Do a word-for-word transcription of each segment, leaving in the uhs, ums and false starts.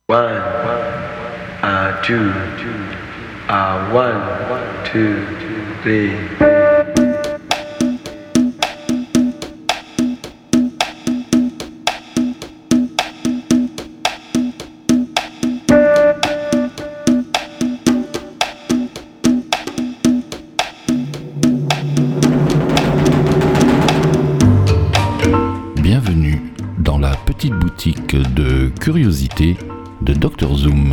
One, uh, two, uh, one, two, three. Bienvenue dans la petite boutique de curiosités de docteur Zoom.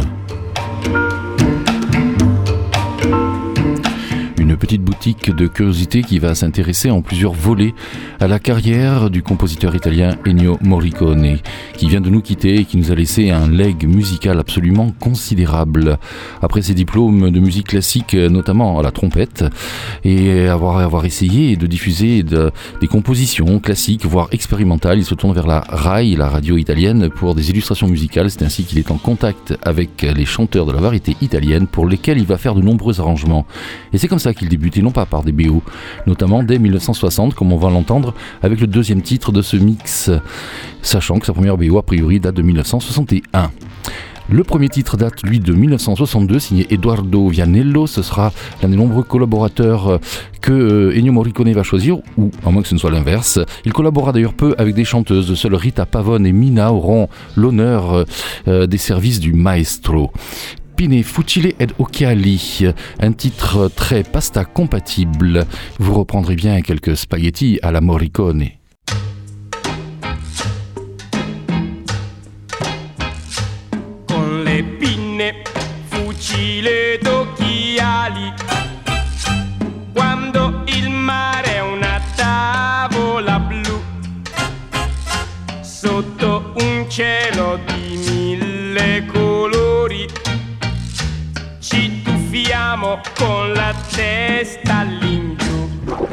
Une petite boutique de curiosités qui va s'intéresser en plusieurs volets à la carrière du compositeur italien Ennio Morricone, qui vient de nous quitter et qui nous a laissé un legs musical absolument considérable. Après ses diplômes de musique classique, notamment à la trompette, et avoir, avoir essayé de diffuser de, des compositions classiques, voire expérimentales, il se tourne vers la RAI, la radio italienne, pour des illustrations musicales. C'est ainsi qu'il est en contact avec les chanteurs de la variété italienne, pour lesquels il va faire de nombreux arrangements. Et c'est comme ça qu'il débutait, non pas par des B O, notamment dès mille neuf cent soixante, comme on va l'entendre avec le deuxième titre de ce mix, sachant que sa première B O a priori date de mille neuf cent soixante et un. Le premier titre date, lui, de mille neuf cent soixante-deux, signé Edoardo Vianello. Ce sera l'un des nombreux collaborateurs que Ennio Morricone va choisir, ou à moins que ce ne soit l'inverse. Il collaborera d'ailleurs peu avec des chanteuses. Seules Rita Pavone et Mina auront l'honneur euh, des services du maestro. Pinne, Fucile ed Occhiali, un titre très pasta compatible. Vous reprendrez bien quelques spaghetti à la Morricone. Con le pinne, fucile ed occhiali, quando il mare è una tavola blu, sotto un cielo di mille colori, ci tuffiamo con la testa all'ingiù,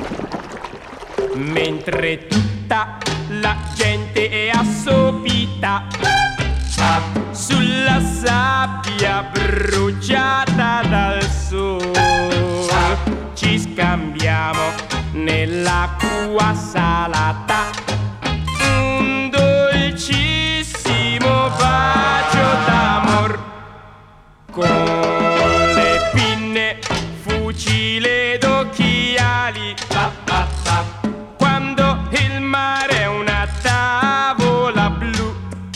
mentre tutta la gente è assopita sulla sabbia bruciata dal sole. Ci scambiamo nell'acqua salata un dolcissimo bacio d'amor. Con fucile d'occhiali, pa, pa, pa. Quando il mare è una tavola blu,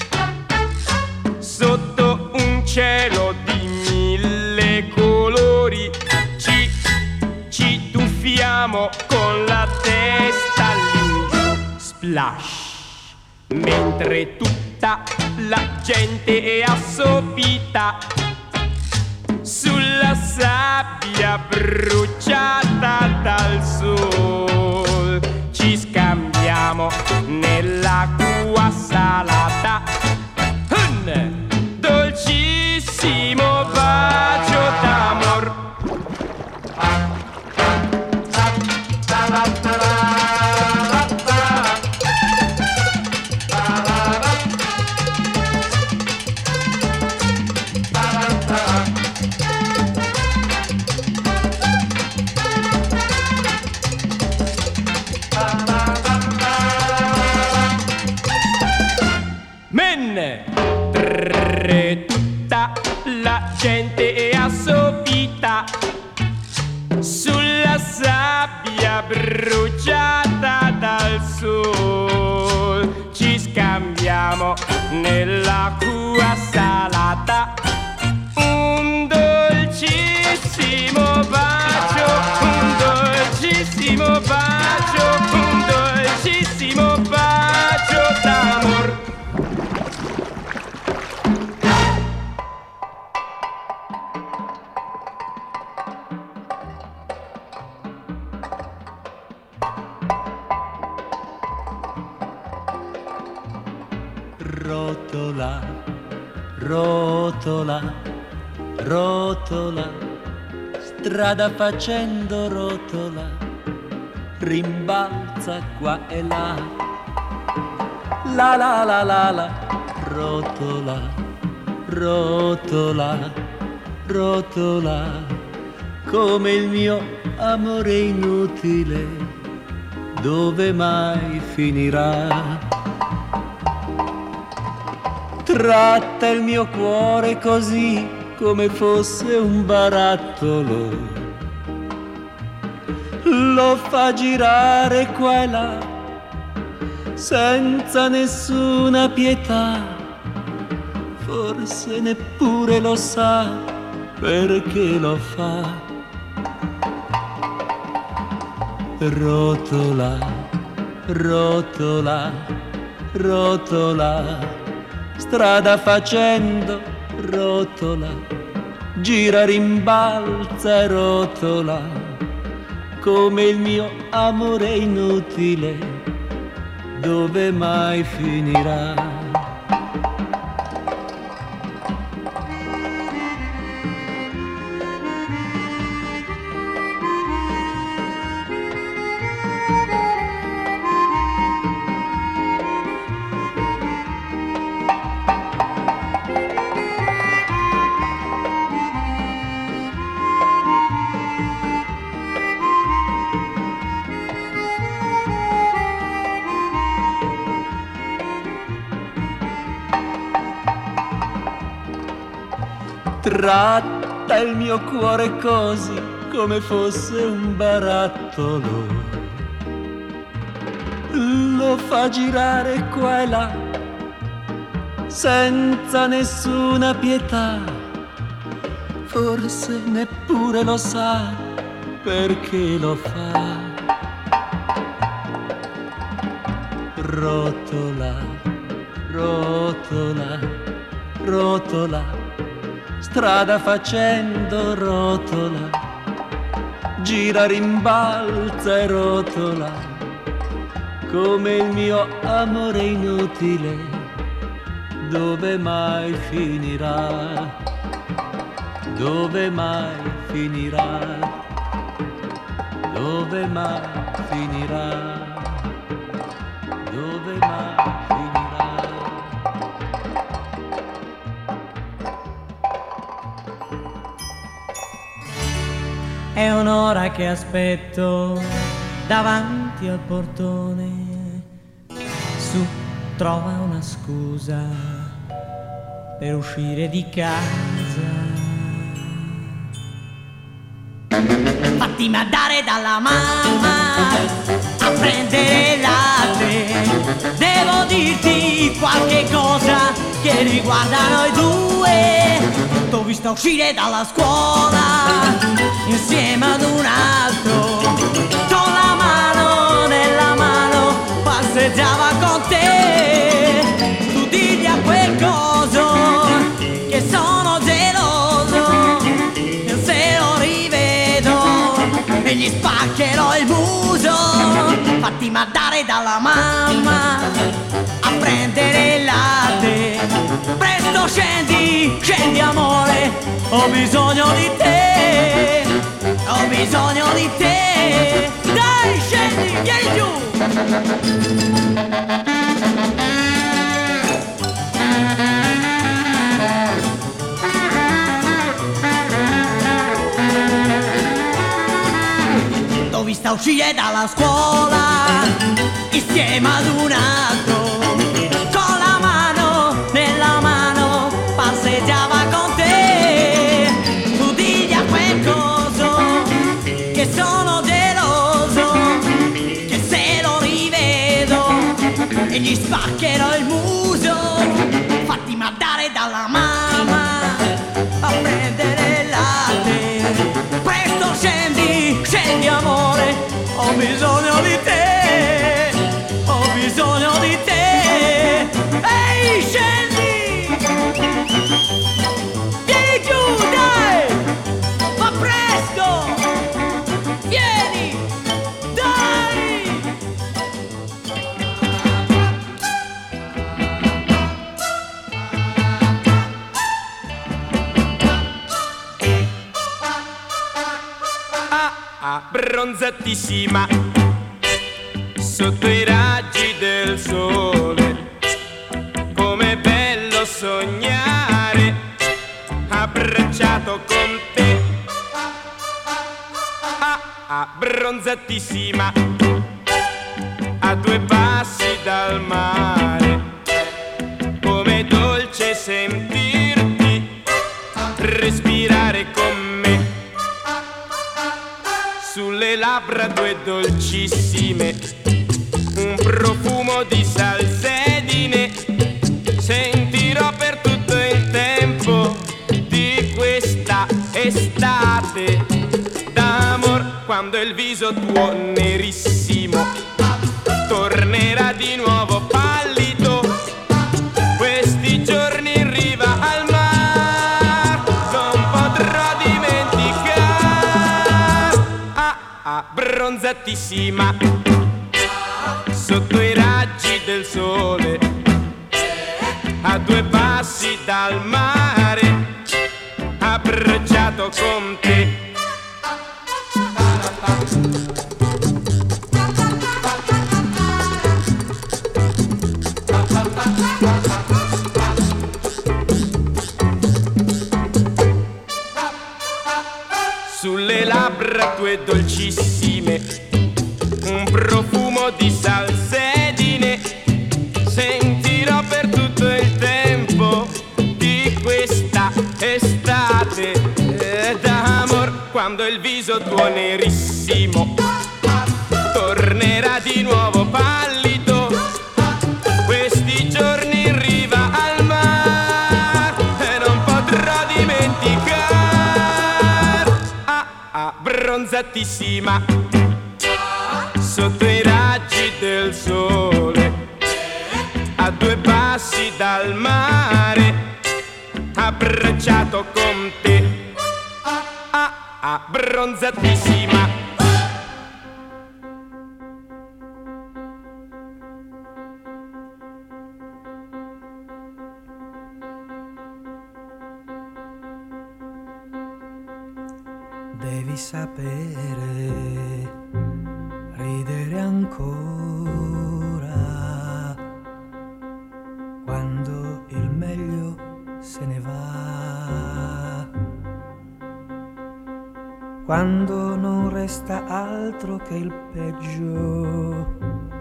sotto un cielo di mille colori, ci, ci tuffiamo con la testa all'ingiù, splash, mentre tutta la gente è assopita sulla sabbia bruciata dal sol. Ci scambiamo nell'acqua salata un dolcissimo bacio d'amor. Tutta la gente è assopita sulla sabbia bruciata dal sol. Ci scambiamo nell'acqua salata un dolcissimo bacio, un dolcissimo bacio, un dolcissimo bacio d'amor. Rotola, rotola, rotola, strada facendo rotola, rimbalza qua e là, la la la la la, rotola, rotola, rotola, come il mio amore inutile, dove mai finirà? tratta il mio cuore così come fosse un barattolo, lo fa girare qua e là senza nessuna pietà, forse neppure lo sa perché lo fa. Rotola, rotola, rotola, strada facendo, rotola, gira, rimbalza e rotola, come il mio amore inutile, dove mai finirà? Tratta il mio cuore così come fosse un barattolo, lo fa girare qua e là senza nessuna pietà, forse neppure lo sa perché lo fa. Rotola, rotola, rotola, strada facendo, rotola, gira, rimbalza e rotola, come il mio amore inutile, dove mai finirà? Dove mai finirà? Dove mai finirà? Dove mai finirà? È un'ora che aspetto davanti al portone, su, trova una scusa per uscire di casa. Fatti mandare dalla mamma a prendere il latte, devo dirti qualche cosa che riguarda noi due. T'ho vista uscire dalla scuola insieme ad un altro, con la mano nella mano passeggiava con te. Tu digli a quel coso che sono geloso, e se lo rivedo e gli spaccherò il muso. Fatti mandare dalla mamma a prendere il latte, presto scendi, scendi amore, ho bisogno di te, ho bisogno di te. Dai scendi, vieni giù. T'ho vista uscire dalla scuola insieme ad un altro, con la mano nella mano passeggiava con te. Tu digli a quel coso che sono geloso, che se lo rivedo e gli spaccherò il muso. Fatti mandare dalla mamma a prendere il latte, presto scendi, scendi amore, ho bisogno di te, ho bisogno di te. Ehi scendi, vieni giù dai, ma presto, vieni, dai. Ah ah, bronzatissima sotto i raggi del sole, com'è bello sognare abbracciato con te. Ah ah, bronzatissima a due passi dal mare, com'è dolce sentirti respirare con me sulle labbra due dolcissime, un profumo di salsedine. Sentirò per tutto il tempo di questa estate d'amor, quando il viso tuo nerissimo tornerà di nuovo pallido. Questi giorni in riva al mar non potrò dimenticare. Ah, ah, bronzatissima sotto i raggi del sole, a due passi dal mare, abbracciato con te. Sulle labbra tue dolcissime, un profumo di salsedine. Sentirò per tutto il tempo di questa estate d'amor, quando il viso tuo nerissimo tornerà di nuovo pallido. Questi giorni in riva al mar e non potrò dimenticare. Ah, ah, bronzatissima sotto i raggi del sole, a due passi dal mare, abbracciato con te. Ah, ah, bronzatissima. Devi sapere ridere ancora quando il meglio se ne va, quando non resta altro che il peggio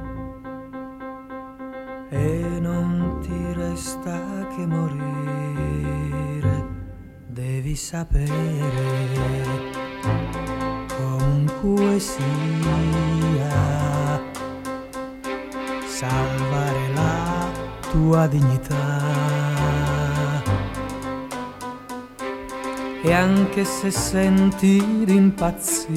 e non ti resta che morire. Devi sapere comunque sia salvare la tua dignità, e anche se senti di impazzire,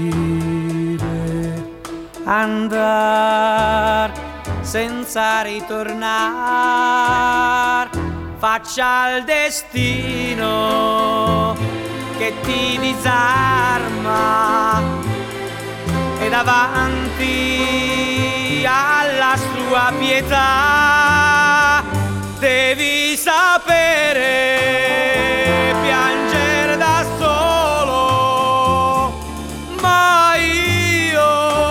andar senza ritornare, faccia il destino che ti disarma, e davanti alla sua pietà devi sapere piangere da solo, ma io,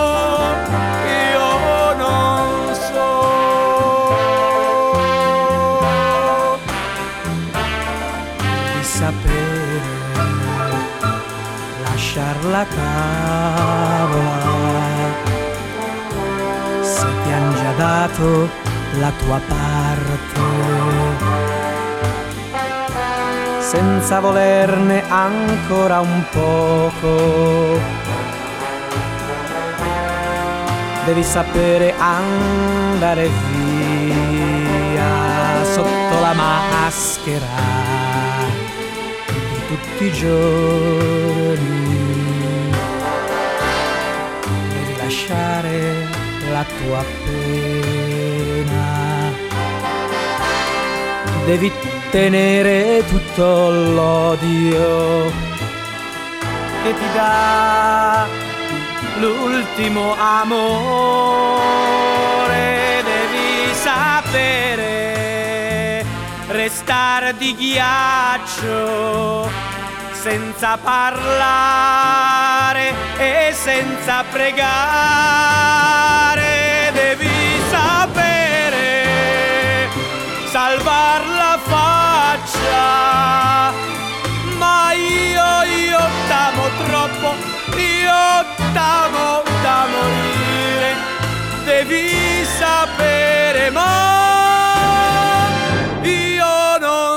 io non so. Devi sapere lasciar la tavola se ti han già dato la tua parte, senza volerne ancora un poco. Devi sapere andare via sotto la maschera di tutti i giorni. Devi lasciare la tua pena, devi tenere tutto l'odio che ti dà l'ultimo amore. Devi sapere restare di ghiaccio senza parlare e senza pregare. Devi sapere salvar la faccia, ma io, io t'amo troppo, io t'amo da morire. Devi sapere, ma io non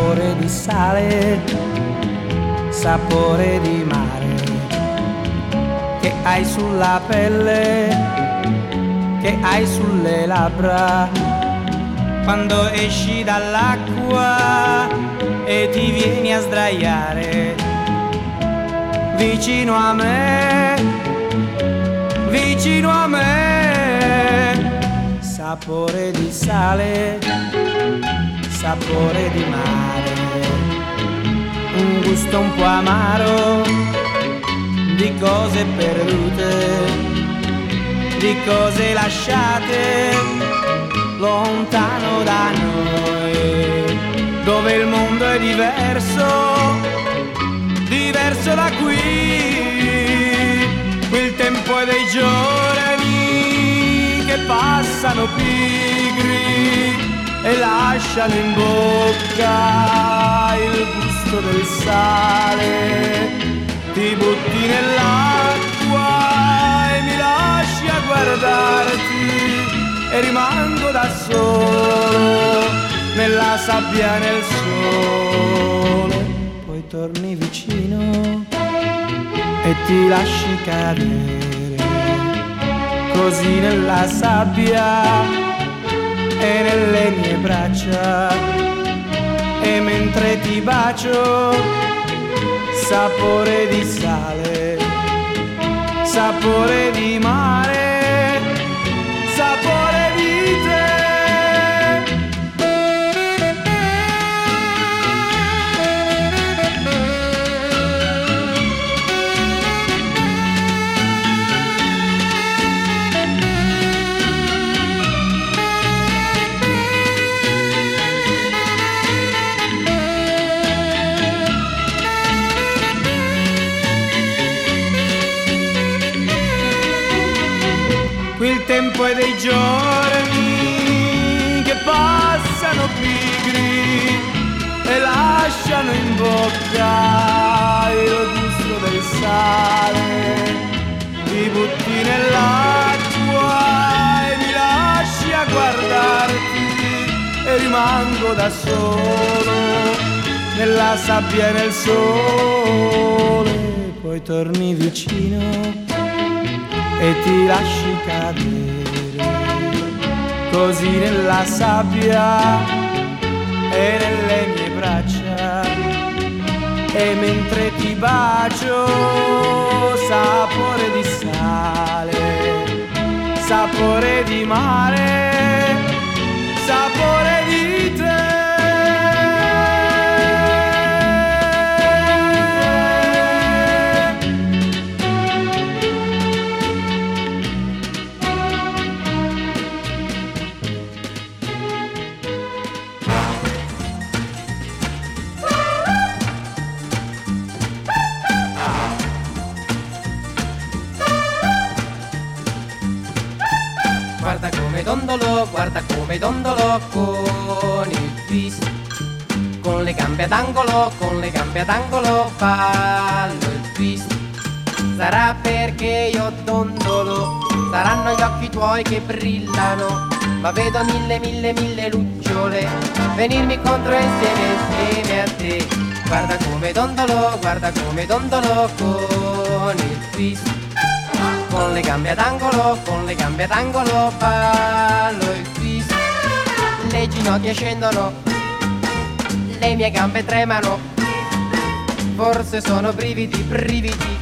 sapore di sale, sapore di mare, che hai sulla pelle, che hai sulle labbra, quando esci dall'acqua e ti vieni a sdraiare vicino a me, vicino a me. Sapore di sale, sapore di mare, un gusto un po' amaro di cose perdute, di cose lasciate lontano da noi, dove il mondo è diverso, diverso da qui. Qui il tempo è dei giorni che passano pigri e lasciano in bocca il gusto del sale. Ti butti nell'acqua e mi lasci a guardarti e rimango da solo nella sabbia, nel sole. Poi torni vicino e ti lasci cadere così nella sabbia e nelle mie braccia, e mentre ti bacio sapore di sale, sapore di mare, sapore di te. Il tempo è dei giorni che passano pigri e lasciano in bocca il gusto del sale. Ti butti nell'acqua e mi lasci a guardarti e rimango da solo nella sabbia e nel sole. Poi torni vicino e ti lasci cadere così nella sabbia e nelle mie braccia, e mentre ti bacio sapore di sale, sapore di mare, sapore di te. Guarda come dondolo, guarda come dondolo con il twist, con le gambe ad angolo, con le gambe ad angolo fallo il twist. Sarà perché io dondolo, saranno gli occhi tuoi che brillano, ma vedo mille mille mille lucciole venirmi contro insieme insieme a te. Guarda come dondolo, guarda come dondolo con il twist, con le gambe ad angolo, con le gambe ad angolo ballo il twist. Le ginocchia scendono, le mie gambe tremano, forse sono brividi, brividi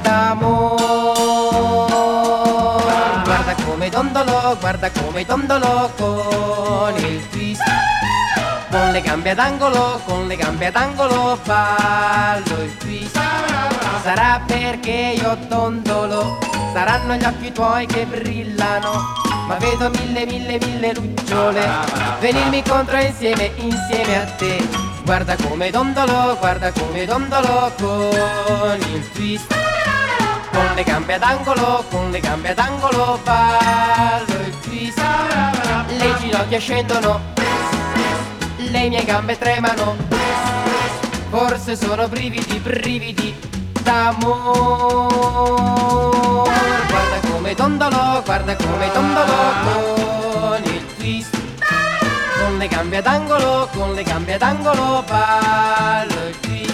d'amore. Guarda come dondolo, guarda come dondolo con il twist, con le gambe ad angolo, con le gambe ad angolo ballo il twist. Sarà perché io dondolo, saranno gli occhi tuoi che brillano, ma vedo mille mille mille lucciole venirmi contro insieme, insieme a te. Guarda come dondolo, guarda come dondolo con il twist, con le gambe ad angolo, con le gambe ad angolo ballo il twist. Le ginocchia scendono, le mie gambe tremano, forse sono brividi, brividi d'amore. Guarda come dondolo, guarda come dondolo con il twist, con le gambe ad angolo, con le gambe ad angolo ballo il twist.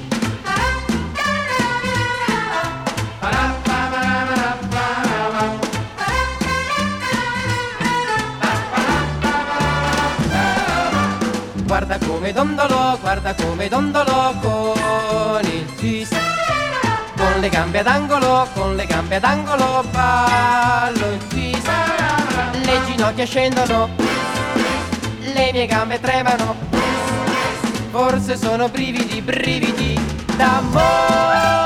Guarda come dondolo, guarda come dondolo con il twist. Con le gambe ad angolo, con le gambe ad angolo ballo il twist. Le ginocchia scendono, le mie gambe tremano, forse sono brividi, brividi d'amore.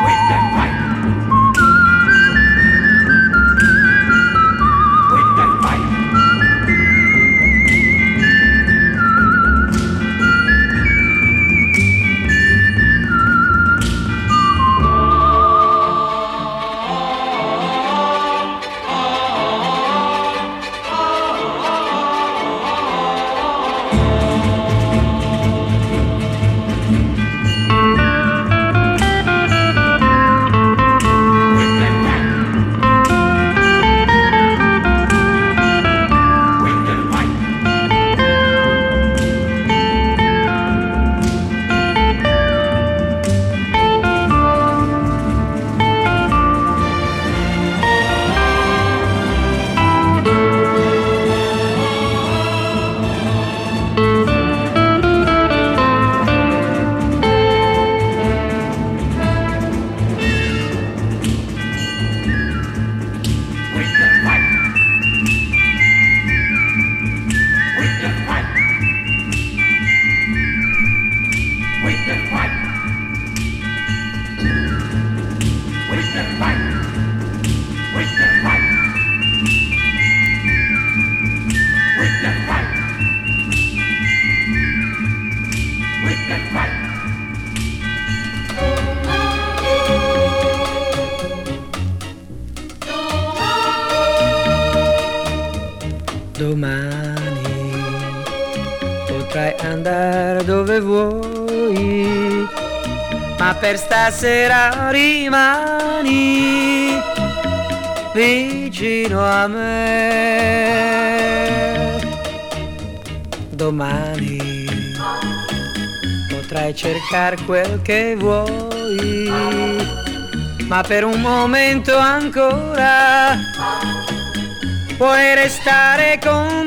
With the fight. Domani potrai andare dove vuoi, ma per stasera rimani vicino a me. Domani potrai cercare quel che vuoi, ma per un momento ancora puoi restare con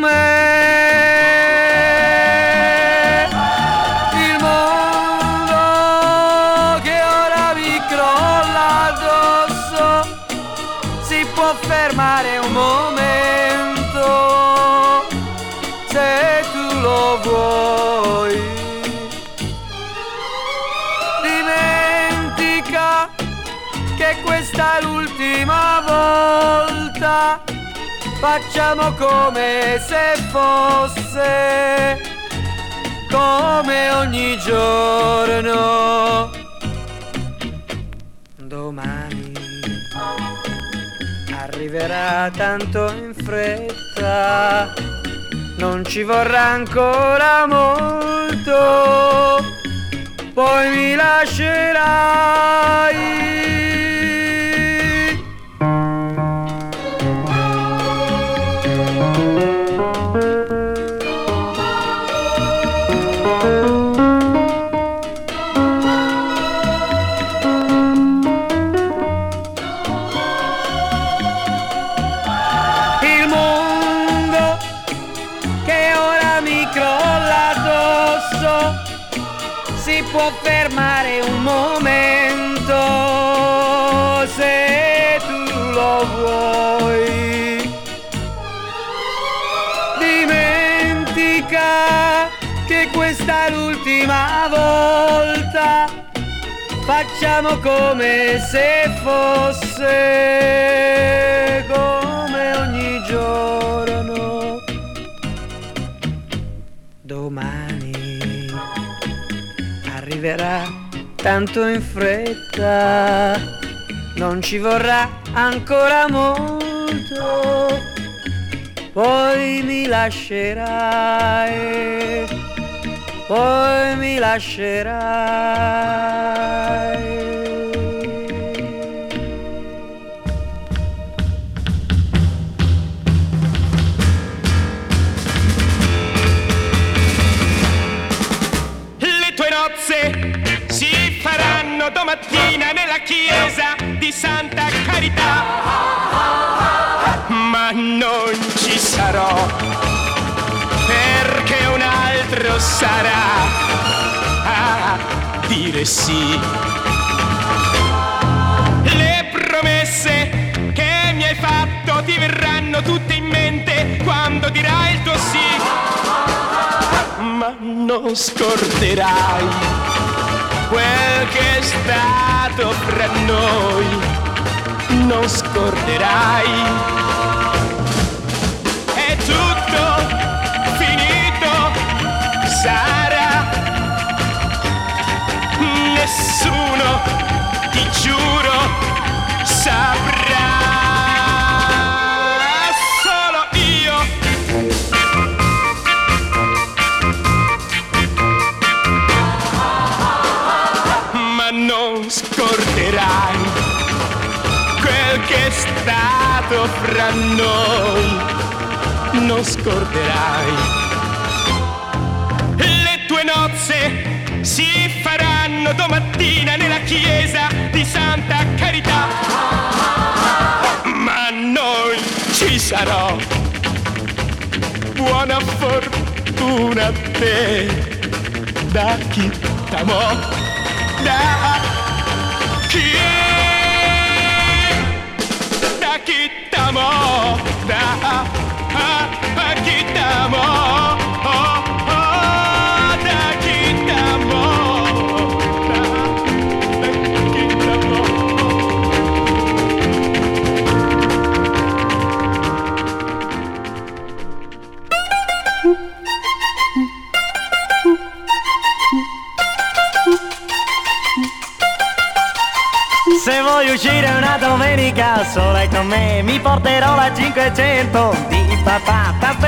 me. Il mondo che ora mi crolla addosso si può fermare un momento se tu lo vuoi. Dimentica che questa è l'ultima volta. Facciamo come se fosse, come ogni giorno. Domani arriverà tanto in fretta, non ci vorrà ancora molto, poi mi lascerai. Può fermare un momento se tu lo vuoi. Dimentica che questa è l'ultima volta. Facciamo come se fosse, come ogni giorno. Domani arriverà tanto in fretta, non ci vorrà ancora molto, poi mi lascerai, poi mi lascerai. Si faranno domattina nella chiesa di Santa Carità, ma non ci sarò perché un altro sarà a dire sì. Le promesse che mi hai fatto ti verranno tutte in mente quando dirai il tuo sì, ma non scorderai quel che è stato fra noi, non scorderai. È tutto finito, sarà. Nessuno, ti giuro, saprà. Solo io. Non scorderai quel che è stato fra noi, non scorderai. Le tue nozze si faranno domattina nella chiesa di Santa Carità, ma non ci sarò. Buona fortuna a te, da chi t'amò. Da chi, da chi t'amò, da, da chi t'amò, oh, oh, da chi t'amò, da, da chi t'amò. Se vuoi uscire una domenica sola con me, mi porterò la cinquecento di papà. T'aspetto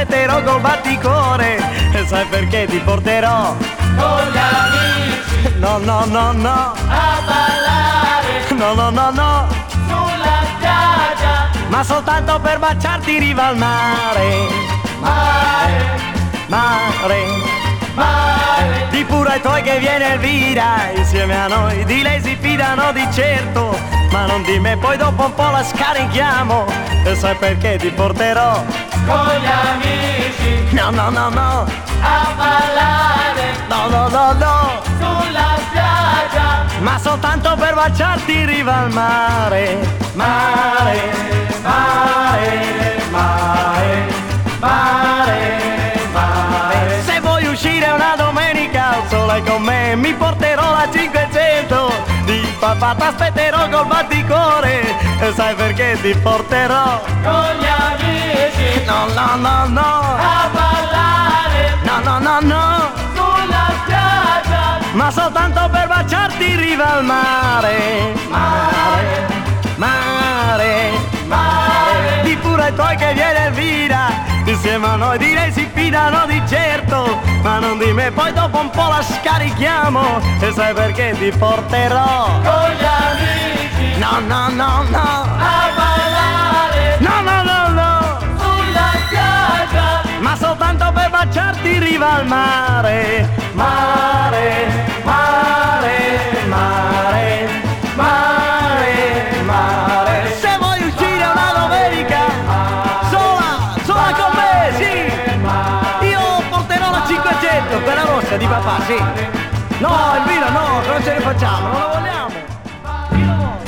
t'aspetterò col batticore. E sai perché ti porterò con gli amici, no no no no, a ballare, no no no no, sulla spiaggia, ma soltanto per baciarti in riva al mare. mare, Mare, mare, di pure ai tuoi che viene Elvira insieme a noi, di lei si fidano di certo, ma non di me, poi dopo un po' la scarichiamo. E sai perché ti porterò con gli amici, no no no no, a ballare, no no no no, sulla spiaggia, ma soltanto per baciarti in riva al mare. Mare, mare, mare, mare, mare. Se vuoi uscire una domenica al sole con me, mi porterò la cinquecento di papà, t'aspetterò col batticore. E sai perché ti porterò con gli amici, no no no no, a ballare, no no no no, sulla spiaggia, ma soltanto per baciarti in riva al mare. Mare, mare, mare, di pure ai tuoi che viene Elvira insieme a noi, di lei si fidano di certo, ma non di me, poi dopo un po' la scarichiamo. E sai perché ti porterò con gli amici, no no no no, a ballare, no no no no, sulla spiaggia, ma soltanto per baciarti in riva al mare. Mare, mare, mare, mare, mare. Se vuoi uscire una domenica sola, sola con me, sì, io porterò la cinquecento, quella rossa di papà, sì. No, Elvira, no, non ce ne facciamo, non la vogliamo. Io la voglio.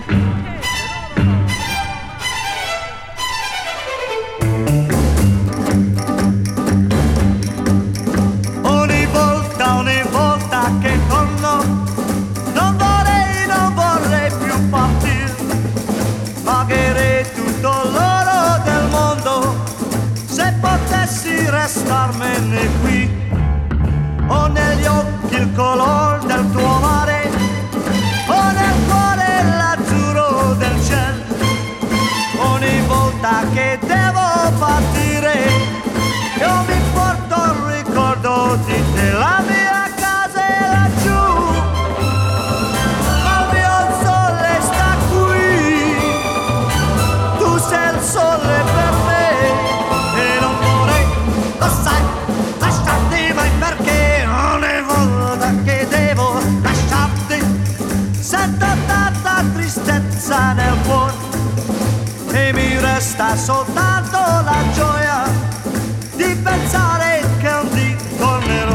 Ogni volta, ogni volta che torno, non vorrei, non vorrei più partire. Pagherei tutto l'oro del mondo se potessi restarmene qui. Ho negli occhi il color del tuo mare, ho nel cuore l'azzurro del cielo. Ogni volta che devo partire, io mi porto il ricordo di te. La mia casa è laggiù, ma il mio sole sta qui. Tu sei il sole per me e non vorrei, lo sai, lasciarti mai, perché ogni volta che devo lasciarti sento tanta tristezza nel cuore e mi resta soltanto la gioia di pensare che un dì tornerò.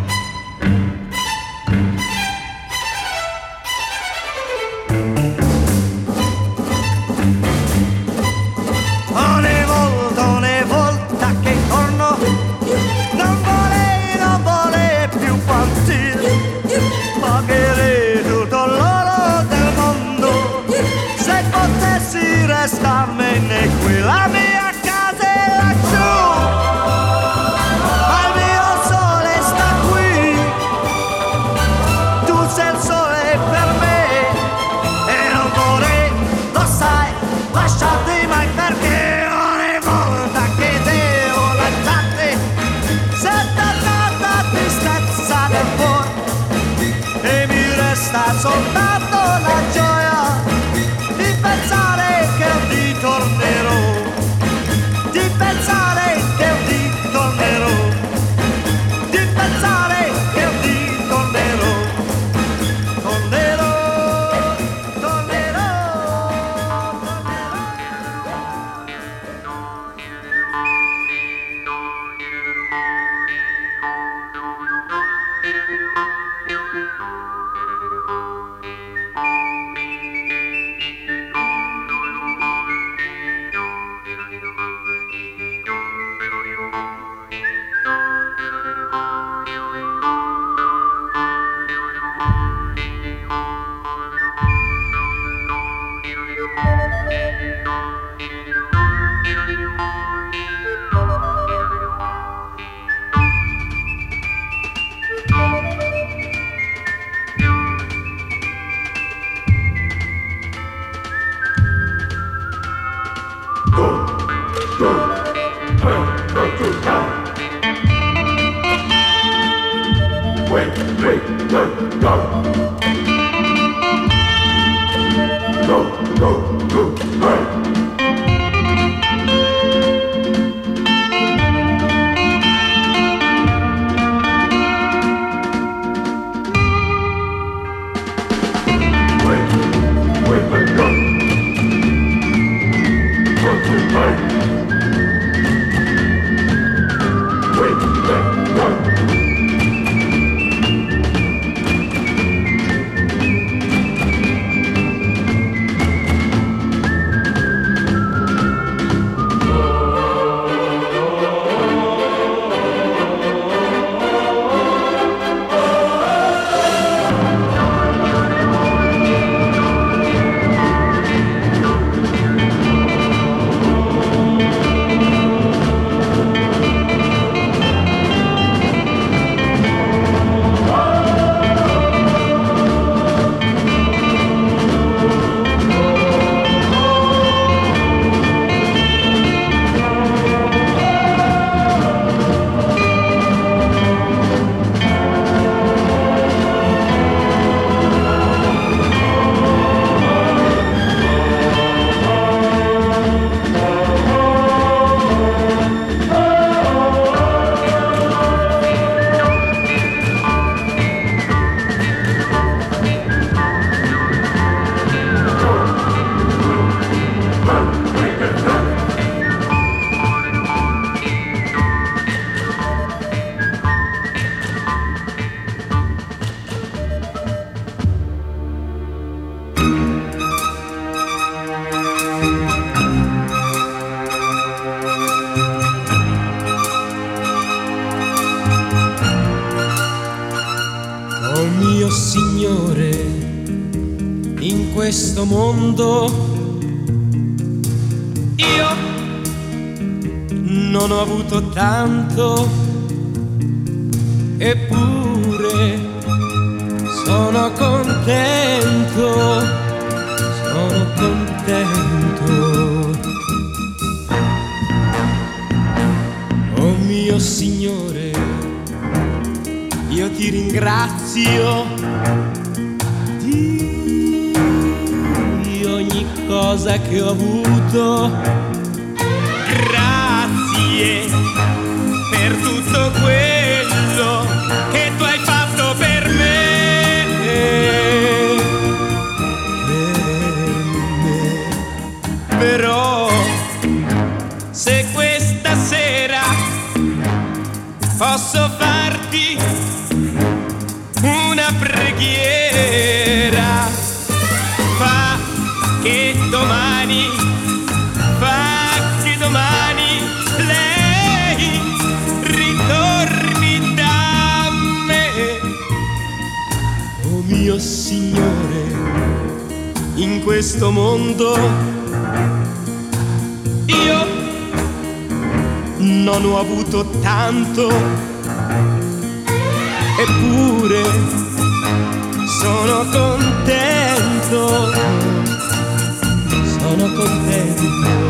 Ogni volta, ogni volta che torno, non vorrei, non vorrei più partire. Pagherei tutto l'oro del mondo se potessi restarmene qui. La mia casa è laggiù, ma il mio sole sta qui. Tu sei il sole per me e non vorrei, lo sai, lasciarti mai, perché ogni volta che devo lasciarti sento tanta tristezza nel cuore e mi resta soltanto la gioia di pensare che un dì tornerò, di pensare che un dì tornerò, di pensare che un dì tornerò, tornerò, tornerò, tornerò. Go, go, go, go. questo mondo io non ho avuto tanto, eppure sono contento, sono contento. Oh mio Signore, io ti ringrazio di ogni cosa che ho avuto. Grazie per tutto quello che tu hai fatto per me, per me. Però se questa sera posso farti una preghiera, fa che domani, fa che domani lei ritorni da me. Oh mio Signore, in questo mondo io non ho avuto tanto, eppure sono contento, sono contento.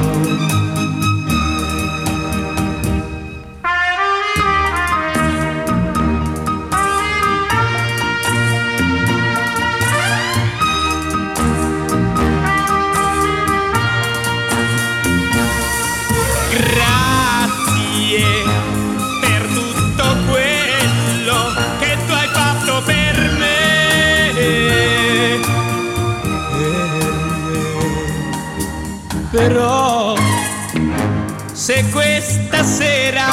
Però se questa sera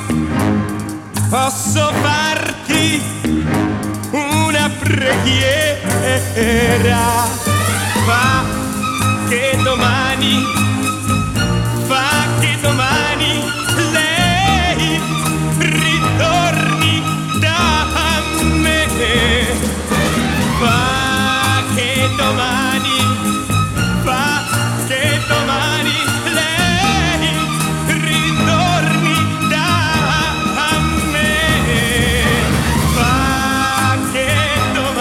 posso farti una preghiera, fa che domani, fa che domani lei ritorni da me, fa che domani, fa che domani lei ritorni da me, fa che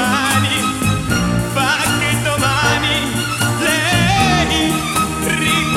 domani, fa che domani lei ritorni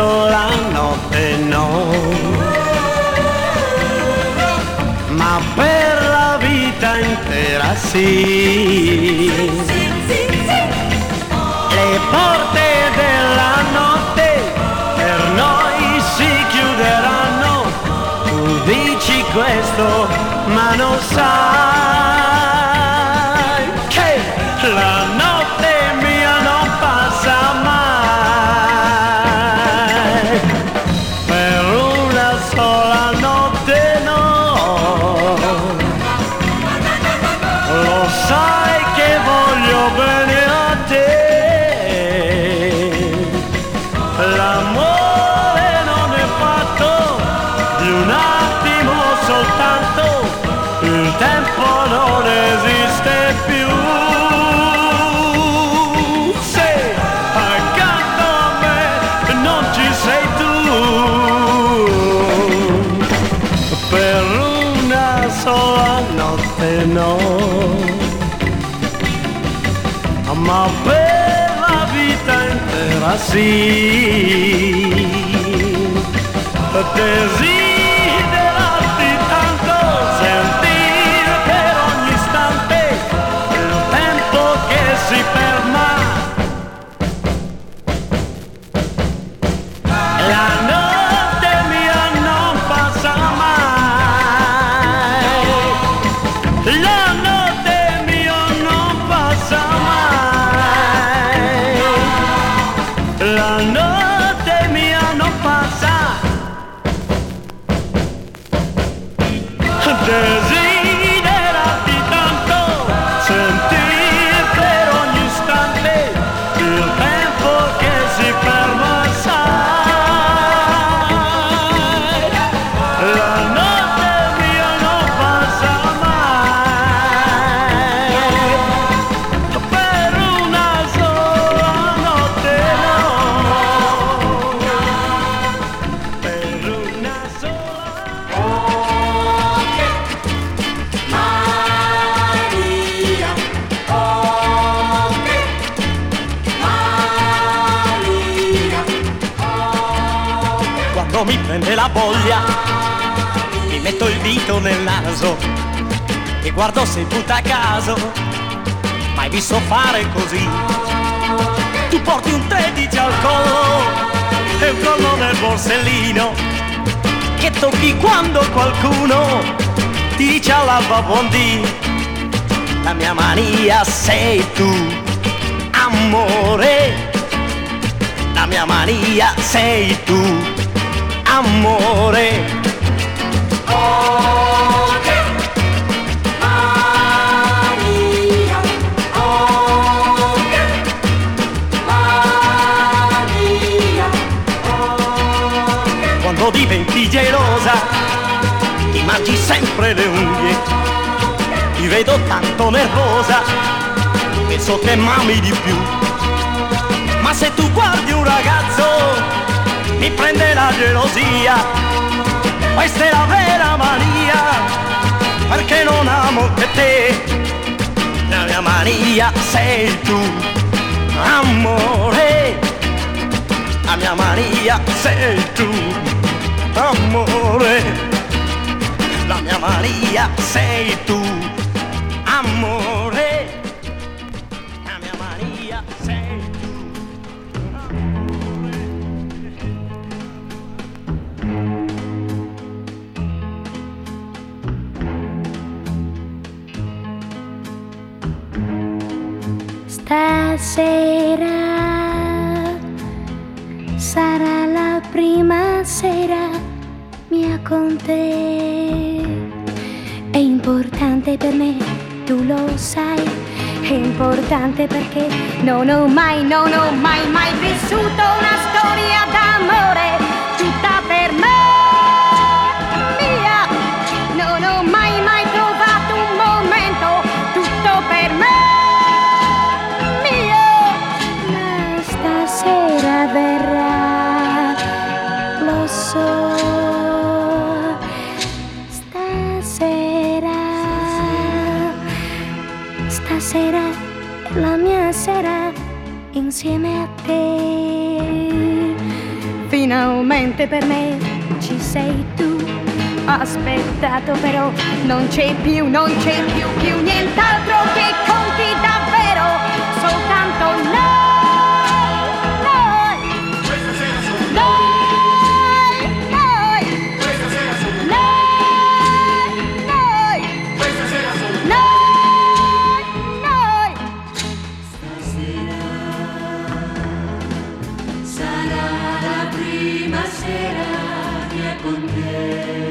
sola notte no, ma per la vita intera sì. Le porte della notte per noi si chiuderanno, tu dici questo ma non sai che la notte mia non passa mai, per una sola notte no, lo sai che voglio bene a te. L'amore non è fatto di un attimo soltanto, il tempo non esiste più. Se accanto a me non ci sei tu, per una sola notte no, ma per la vita intera sì. Desiderarti tanto, sentire per ogni istante il tempo che si ferma, la notte mia non passa mai, la notte mia non passa mai, la notte mia non passa. Desiderarti tanto, sentire per ogni istante il tempo che si ferma, sai, la notte mia non passa mai, per una sola notte no, per una sola. Quando mi prende la voglia, mi metto il dito nel naso e guardo se butta a caso. Mai visto fare così? Tu porti un tredici al collo e un collo nel borsellino che tocchi quando qualcuno ti dice all'alba buondì. La mia mania sei tu, amore. La mia mania sei tu, amore. Oh, che Maria, oh, che Maria, oh, che. Quando diventi gelosa, ti mangi sempre le unghie, ti vedo tanto nervosa, penso che m'ami di più. Ma se tu guardi un ragazzo, mi prende la gelosia. Questa è la vera mania, perché non amo che te. La mia mania sei tu, amore. La mia mania sei tu, amore. La mia mania sei tu, amore. La mia mania sei tu. Stasera sarà la prima sera mia con te. È importante per me, tu lo sai. È importante perché non ho mai, non ho mai, mai vissuto una storia d'amore tutta per me. Mia, non ho mai, mai trovato un momento tutto per me. Stasera verrà, lo so. Stasera, stasera è la mia sera insieme a te. finalmente per me ci sei tu. Ho aspettato però non c'è più, non c'è più, più nient'altro che conti davvero, soltanto noi, noi, questa sera sono noi, noi, questa sera sono noi, noi, questa sera sono noi, noi. Stasera sarà la prima sera mia con te.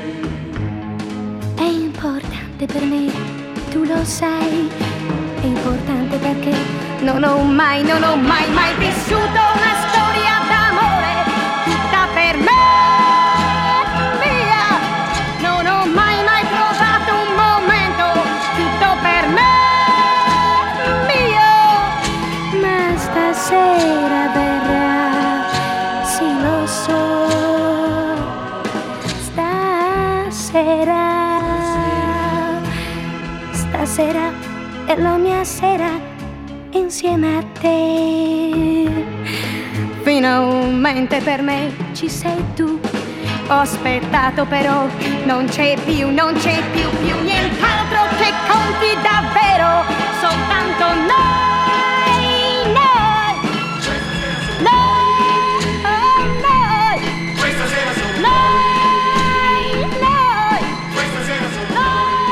È importante per me, tu lo sai, è importante perché non ho mai, non ho mai, mai vissuto una storia d'amore tutta per me, mia. Non ho mai, mai provato un momento tutto per me, mio. Ma stasera verrà, sì lo so, stasera. Stasera è la mia sera insieme a te. Finalmente per me ci sei tu. Ho aspettato però non c'è più, non c'è più, più nient'altro che conti davvero, soltanto noi, noi, noi, noi, questa sera sono noi, noi, questa sera sono noi.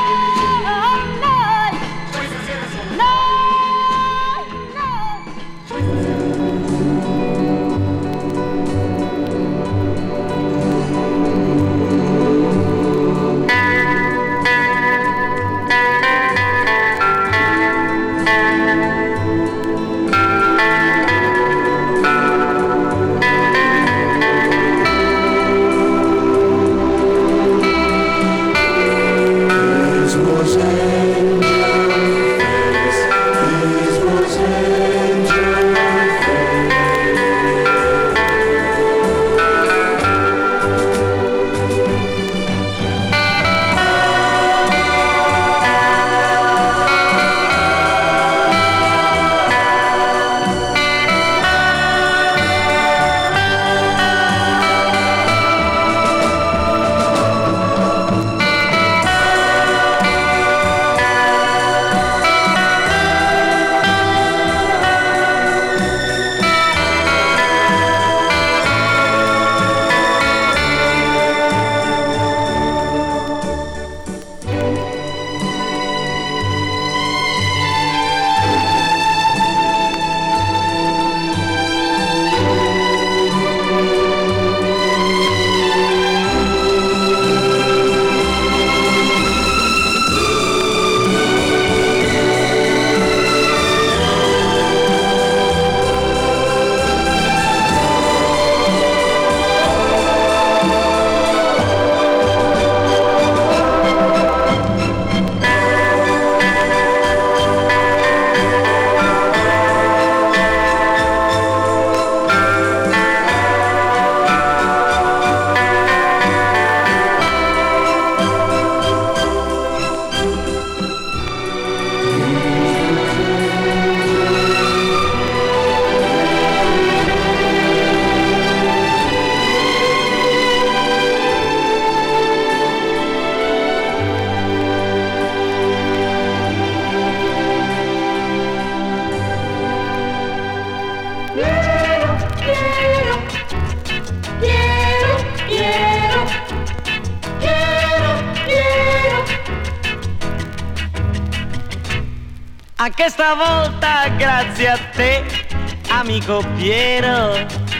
Anche stavolta grazie a te, amico Piero,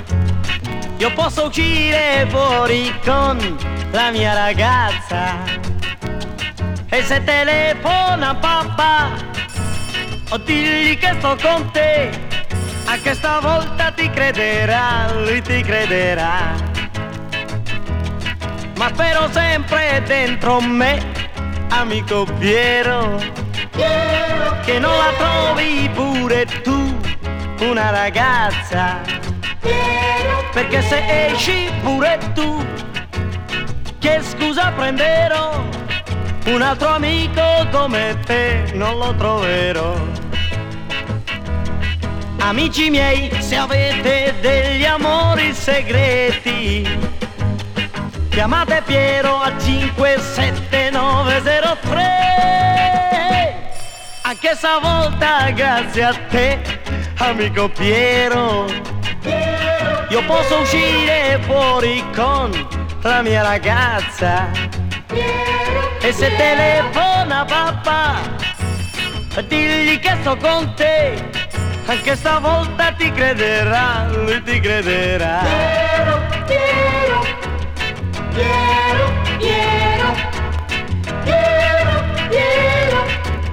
io posso uscire fuori con la mia ragazza. E se telefona papà, o digli che sto con te, anche stavolta ti crederà, lui ti crederà. Ma spero sempre dentro me, amico Piero, Piero, che non la trovi pure tu una ragazza. Piero, perché se esci pure tu, che scusa prenderò? Un altro amico come te non lo troverò. Amici miei, se avete degli amori segreti, chiamate Piero a cinque sette nove zero tre. Anche stavolta grazie a te, amico Piero, io posso uscire fuori con la mia ragazza. E se telefona papà, digli che sto con te, anche stavolta ti crederà, lui ti crederà. Piero, Piero, Piero, Piero, Piero, Piero.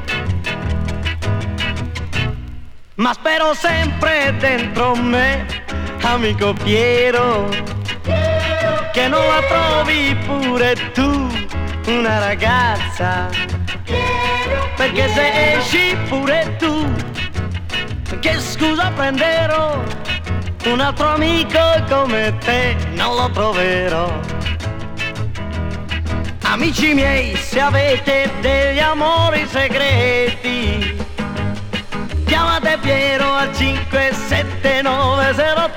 Ma spero sempre dentro me, amico Piero, Piero, che non la trovi pure tu una ragazza. Piero, perché Piero, se esci pure tu, che scusa prenderò? Un altro amico come te non lo troverò. Amici miei, se avete degli amori segreti, chiamate Piero al cinque sette nove zero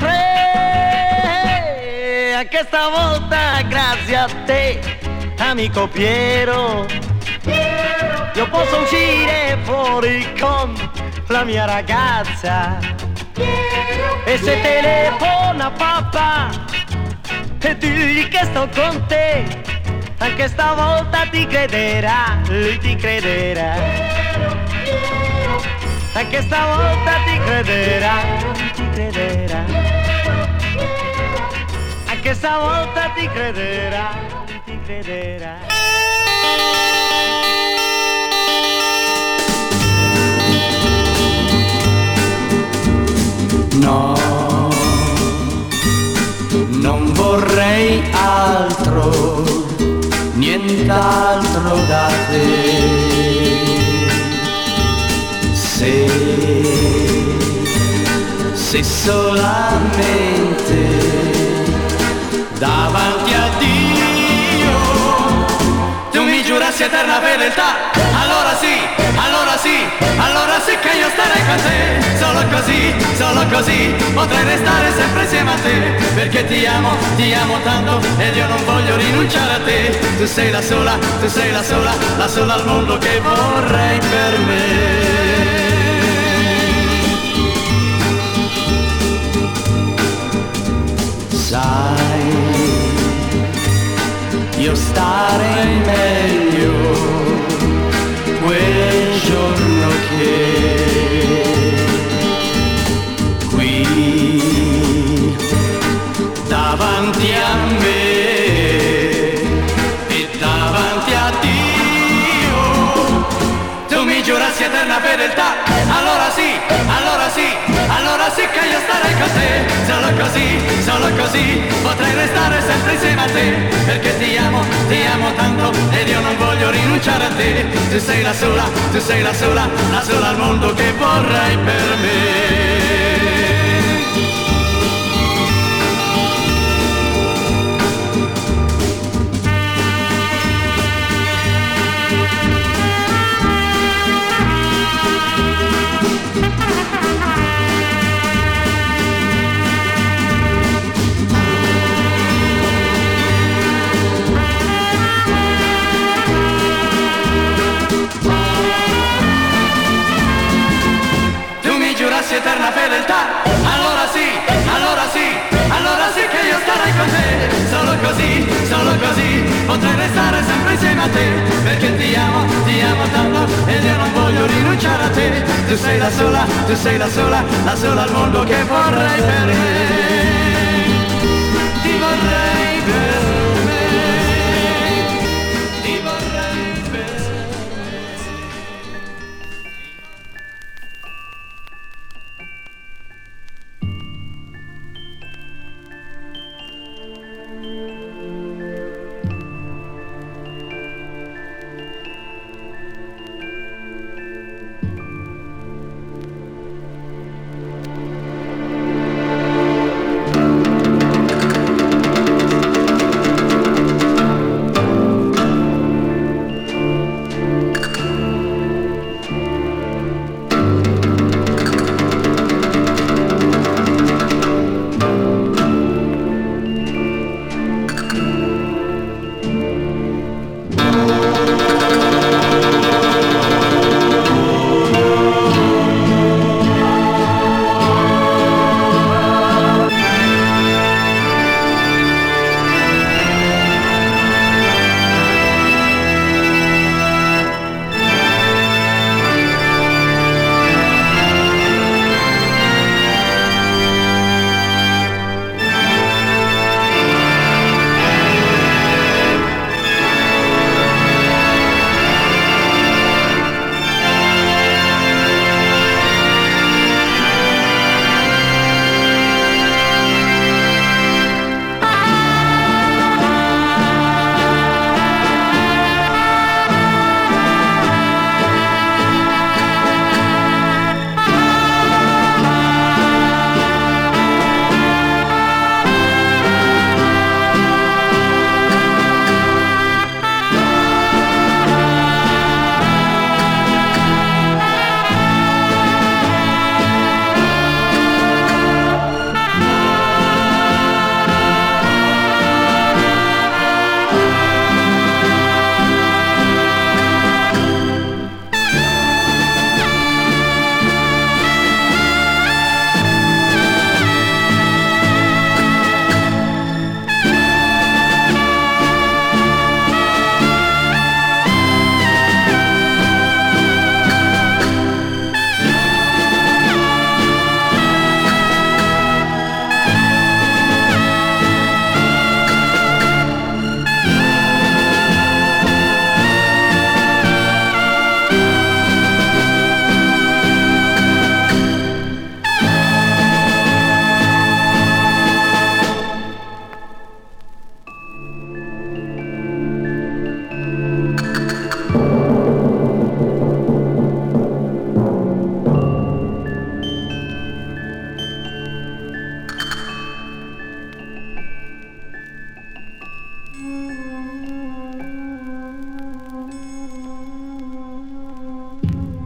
tre. Anche stavolta grazie a te, amico Piero, Piero, io posso uscire fuori con la mia ragazza. Piero, e se Piero, telefona papà e digli che sto con te, anche stavolta ti crederà, lui ti crederà. Piero, Piero, anche stavolta ti crederà, lui ti crederà. Piero, Piero, anche stavolta ti crederà, lui ti crederà. No, non vorrei altro, nient'altro da te. Se, se solamente davanti a Dio tu mi giurassi eterna fedeltà, allora sì, allora sì, allora sì che io starei con te. Solo così, solo così potrei restare sempre insieme a te, perché ti amo, ti amo tanto ed io non voglio rinunciare a te. Tu sei la sola, tu sei la sola, la sola al mondo che vorrei per me. Sai, io starei meglio quel giorno che qui davanti a me e davanti a Dio tu mi giurassi eterna fedeltà, allora sì, allora sì, allora sì che io starei con te. Solo così, solo così potrei restare sempre insieme a te, perché ti amo, ti amo tanto ed io non voglio rinunciare a te. Tu sei la sola, tu sei la sola, la sola al mondo che vorrei per me. Eterna fedeltà, allora sì, allora sì, allora sì che io starei con te. Solo così, solo così potrei restare sempre insieme a te, perché ti amo, ti amo tanto ed io non voglio rinunciare a te. Tu sei la sola, tu sei la sola, la sola al mondo che vorrei per me. Ti vorrei per me, ti vorrei per me.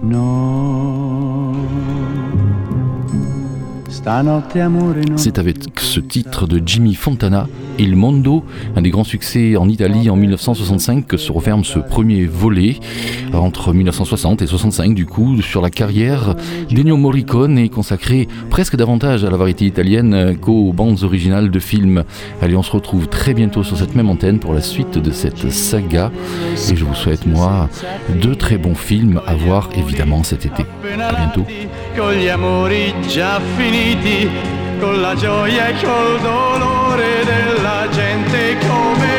C'est avec ce titre de Jimmy Fontana, Il Mondo, un des grands succès en Italie en dix-neuf cent soixante-cinq, que se referme ce premier volet entre dix-neuf cent soixante et soixante-cinq, du coup, sur la carrière d'Ennio Morricone, est consacré presque davantage à la variété italienne qu'aux bandes originales de films. Allez, on se retrouve très bientôt sur cette même antenne pour la suite de cette saga, et je vous souhaite, moi, de très bons films à voir évidemment cet été. À bientôt. Con gli amori già finiti, con la gioia e col dolore della gente come